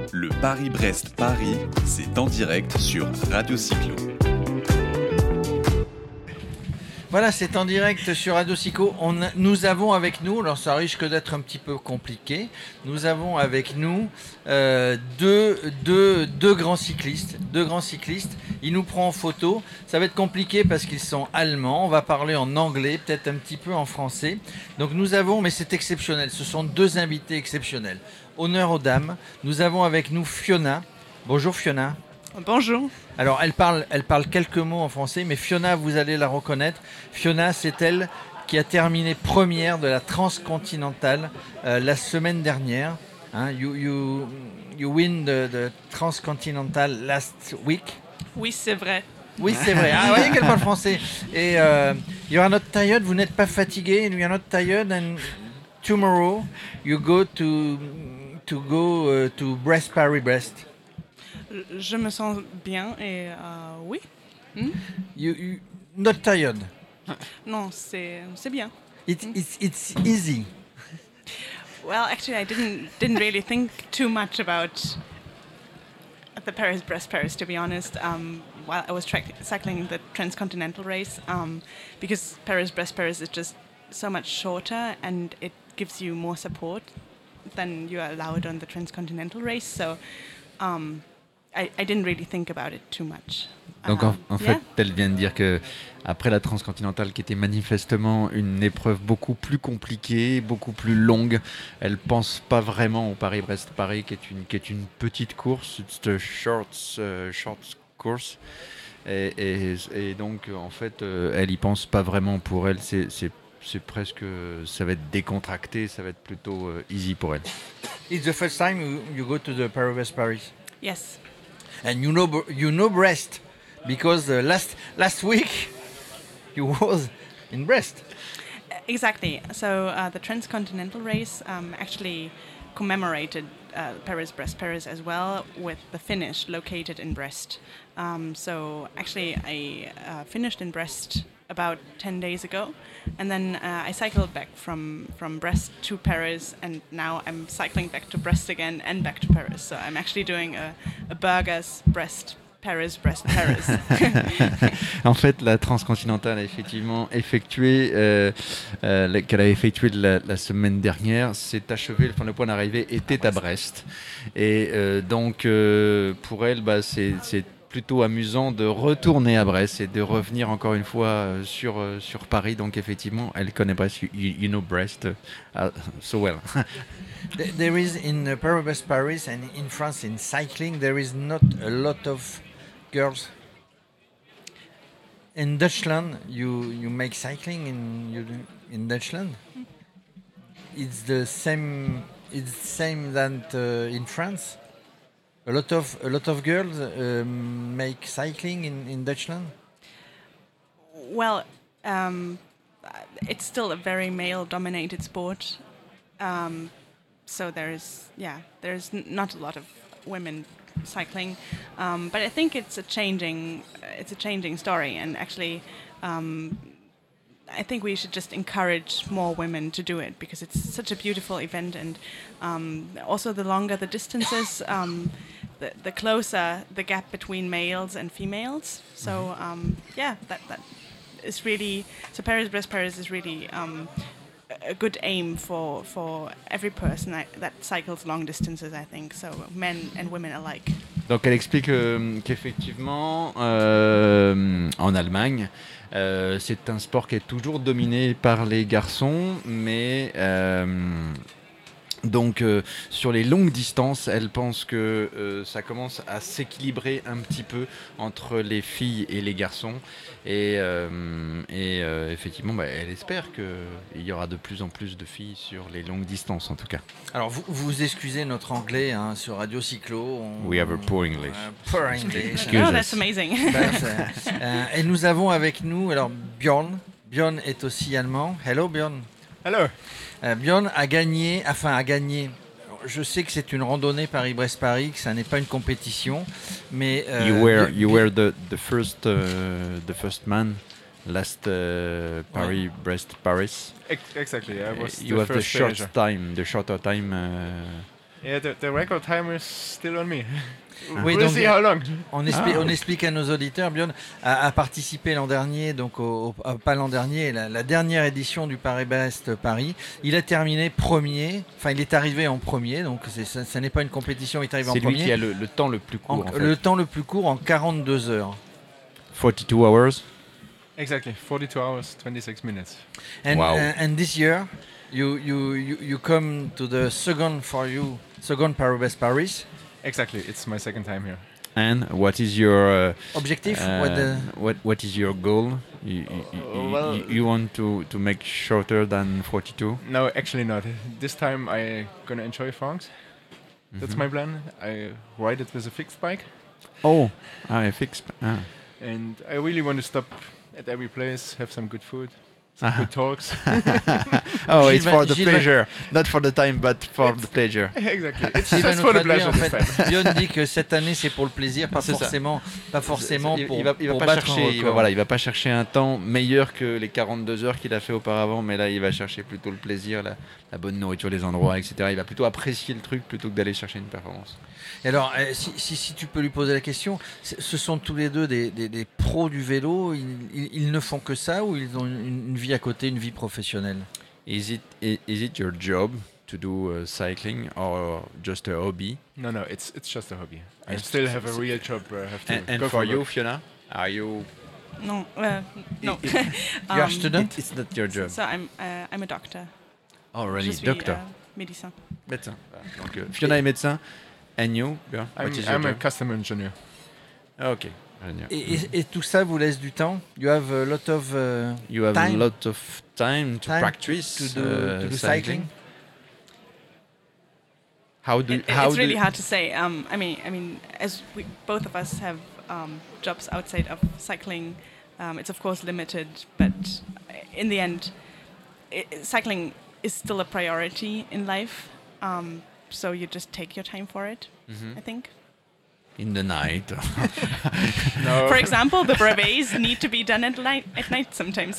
Le Paris-Brest-Paris, c'est en direct sur Radio Cyclo. Voilà, c'est en direct sur Radio Cyclo. Nous avons avec nous, alors ça risque d'être un petit peu compliqué, nous avons avec nous deux grands cyclistes. Ils nous prennent en photo. Ça va être compliqué parce qu'ils sont allemands. On va parler en anglais, peut-être un petit peu en français. Donc nous avons, mais c'est exceptionnel, ce sont deux invités exceptionnels. Honneur aux dames. Nous avons avec nous Fiona. Bonjour Fiona. Bonjour. Alors, elle parle quelques mots en français, mais Fiona, vous allez la reconnaître. Fiona, c'est elle qui a terminé première de la transcontinentale la semaine dernière. Hein, you win the transcontinental last week. Oui, c'est vrai. Oui, c'est vrai. Ah, vous voyez qu'elle parle français. Et you are not tired, vous n'êtes pas fatigué. You are not tired, and tomorrow you go to Brest, Paris-Brest. Je me sens bien et oui. You not tired. Non, c'est bien. It's easy. Well, actually, I didn't really think too much about the Paris-Brest-Paris, to be honest, while I was cycling the transcontinental race, because Paris-Brest-Paris is just so much shorter and it gives you more support than you are allowed on the transcontinental race. So I didn't really think about it too much. Donc en fait, elle vient de dire que après la transcontinentale, qui était manifestement une épreuve beaucoup plus compliquée, beaucoup plus longue, elle pense pas vraiment au Paris-Brest-Paris, qui est une petite course, it's a short course, et donc en fait, elle y pense pas vraiment. Pour elle, c'est presque, ça va être décontracté, ça va être plutôt easy pour elle. It's the first time you go to the Paris-Brest-Paris. Yes. And you know Brest because last week you was in Brest. Exactly. So the transcontinental race actually commemorated Paris-Brest-Paris as well, with the finish located in Brest. So actually I finished in Brest about 10 days ago, and then I cycled back from Brest to Paris, and now I'm cycling back to Brest again and back to Paris. So I'm actually doing a Burgers Brest Paris. En fait, la transcontinentale a effectivement qu'elle a effectué la semaine dernière, s'est achevée. Le point d'arrivée était à Brest, et donc pour elle, c'est plutôt amusant de retourner à Brest et de revenir encore une fois sur Paris. Donc effectivement, elle connaît Brest. You know Brest so well. There is in Paris and in France in cycling there is not a lot of girls. In Deutschland, you make cycling in Deutschland. It's the same. It's same than in France. A lot of girls make cycling in Deutschland. Well, it's still a very male-dominated sport, so there's not a lot of women cycling, but I think it's a changing story, and actually, I think we should just encourage more women to do it, because it's such a beautiful event, and also the longer the distances, the closer the gap between males and females. So that is really, so Paris-Brest-Paris is really a good aim for every person that cycles long distances, I think. So men and women alike. Donc elle explique qu'effectivement en Allemagne, c'est un sport qui est toujours dominé par les garçons, mais donc sur les longues distances, elle pense que ça commence à s'équilibrer un petit peu entre les filles et les garçons, et effectivement, elle espère qu'il y aura de plus en plus de filles sur les longues distances, en tout cas. Alors vous excusez notre anglais sur Radio Cyclo. We have a poor English. Poor English. Oh, that's amazing. Et nous avons avec nous Björn. Björn est aussi allemand. Hello Björn. Hello. Björn a gagné. Je sais que c'est une randonnée Paris-Brest-Paris, que ça n'est pas une compétition, mais you were the first man last Paris-Brest-Paris. Exactly. I was you the have first the shorter time Yeah, the record time is still on me. Oui, We'll donc, see how long. On explique à nos auditeurs, Björn a participé l'an dernier, donc pas l'an dernier, la dernière édition du Paris-Brest Paris. Il a terminé premier, enfin il est arrivé en premier, donc ça n'est pas une compétition, il est arrivé en premier. C'est lui qui a le temps le plus court. En fait. Le temps le plus court en 42 heures. 42 hours. Exactly, 42 hours, 26 minutes. And, Wow. And this year, you come to the second Paris-Brest Paris. Exactly, it's my second time here. And what is your Objective? what is your goal? You want to make shorter than 42? No, actually not. This time I gonna enjoy France. That's my plan. I ride it with a fixed bike. Oh, I fixed. Ah. And I really want to stop at every place, have some good food, some good talks. Oh, it's for the Gilles pleasure, not for the time, but for the pleasure. Exactly. It's Il va just nous for the traduire, pleasure en this fait. time. Björn dit que cette année c'est pour le plaisir, pas C'est ça. forcément pour, il va pour pas battre un chercher, record. il va pas chercher un temps meilleur que les 42 heures qu'il a fait auparavant, mais là il va chercher plutôt le plaisir, la bonne nourriture, les endroits, etc. Il va plutôt apprécier le truc plutôt que d'aller chercher une performance. Et alors, si tu peux lui poser la question, ce sont tous les deux des pros du vélo, ils ne font que ça ou ils ont une vie à côté, une vie professionnelle? Is it your job to do cycling or just a hobby? No, it's just a hobby. I It's still just- have a real job where I have to And go for you, work. Fiona, are you? No, no. You are a student? It's not your job. So I'm a doctor. Oh, really? Je suis, Doctor. médecin. Médecin. Donc, Fiona est médecin. And you, Björn, what is your I'm a job? customer engineer. Ok, génial. Et tout ça vous laisse du temps? You have a lot of You have time a lot of time to practice to do cycling? How do It's really hard to say. I mean, as we both of us have jobs outside of cycling, it's of course limited. But in the end, cycling is still a priority in life. So you just take your time for it. I think. in the night? No, For example, the brevets need to be done at night sometimes.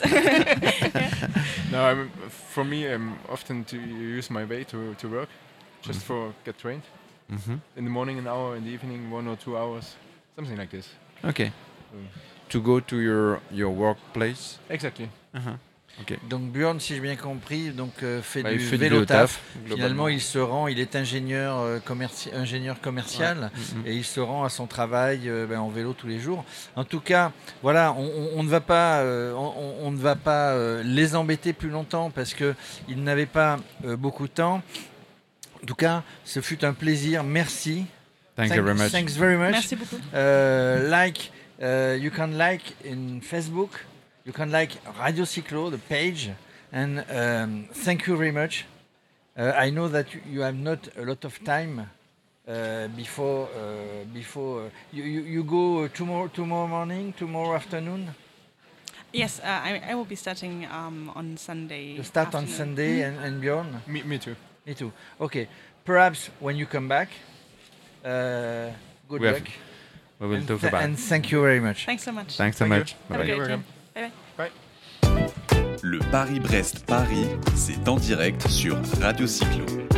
no. For me, often to use my way to work, just for get trained. Mhm. In the morning, an hour. In the evening, 1 or 2 hours, something like this. Okay. Mm. To go to your workplace. Exactly. Okay. Donc Björn, si j'ai bien compris, fait Bah, du il fait vélo taf. globalement. Finalement, il est ingénieur commercial et il se rend à son travail en vélo tous les jours. En tout cas, voilà, on ne va pas, on ne va pas les embêter plus longtemps parce que ils n'avaient pas beaucoup de temps. En tout cas, ce fut un plaisir. Merci. Thank you very much. Thanks very much. Merci beaucoup. You can like in Facebook. You can like Radio Cyclo, the page, and thank you very much. I know that you have not a lot of time before you go tomorrow morning, tomorrow afternoon. Yes, I will be starting on Sunday. You start on afternoon. Sunday, and Björn? Me too. Me too. Okay. Perhaps when you come back, good We have- luck. We will And talk th- about. and thank you very much. Thanks so much. Thanks so Thank you. much. Have a Bye-bye. great You're day. Bye. Le Paris-Brest-Paris, c'est en direct sur Radio Cyclo.